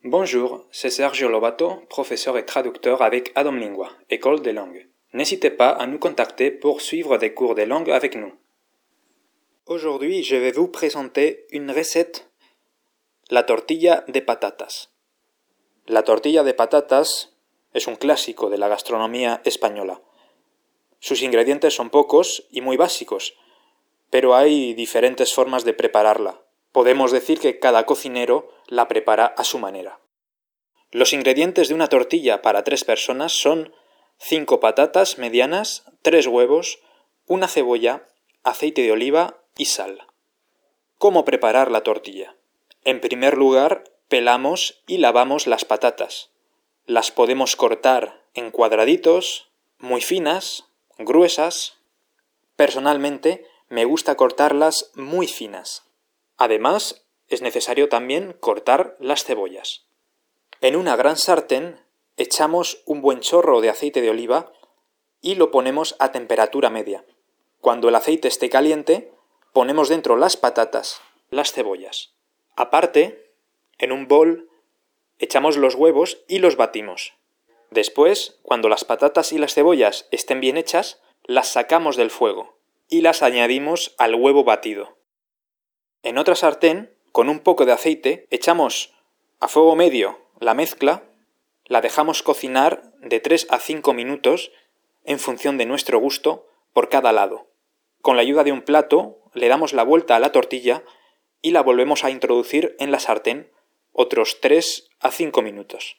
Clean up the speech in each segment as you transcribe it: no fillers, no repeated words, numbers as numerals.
Bonjour, c'est Sergio Lobato, professeur et traducteur avec Adam Lingua, École des langues. N'hésitez pas à nous contacter pour suivre des cours de langue avec nous. Aujourd'hui, je vais vous présenter une recette, la tortilla de patatas. La tortilla de patatas es un clásico de la gastronomía española. Sus ingredientes son pocos y muy básicos, pero hay diferentes formas de prepararla. Podemos decir que cada cocinero la prepara a su manera. Los ingredientes de una tortilla para 3 personas son 5 patatas medianas, 3 huevos, una cebolla, aceite de oliva y sal. ¿Cómo preparar la tortilla? En primer lugar, pelamos y lavamos las patatas. Las podemos cortar en cuadraditos, muy finas, gruesas. Personalmente, me gusta cortarlas muy finas. Además, es necesario también cortar las cebollas. En una gran sartén echamos un buen chorro de aceite de oliva y lo ponemos a temperatura media. Cuando el aceite esté caliente, ponemos dentro las patatas, las cebollas. Aparte, en un bol, echamos los huevos y los batimos. Después, cuando las patatas y las cebollas estén bien hechas, las sacamos del fuego y las añadimos al huevo batido. En otra sartén, con un poco de aceite, echamos a fuego medio la mezcla, la dejamos cocinar de 3 a 5 minutos en función de nuestro gusto por cada lado. Con la ayuda de un plato, le damos la vuelta a la tortilla y la volvemos a introducir en la sartén otros 3 a 5 minutos.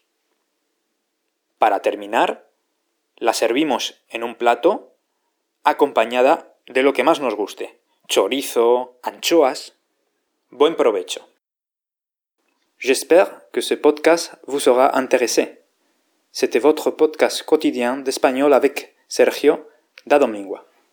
Para terminar, la servimos en un plato acompañada de lo que más nos guste: chorizo, anchoas. Buen provecho. J'espère que ce podcast vous sera intéressé. C'était votre podcast quotidien d'espagnol avec Sergio d'Adam Lingua.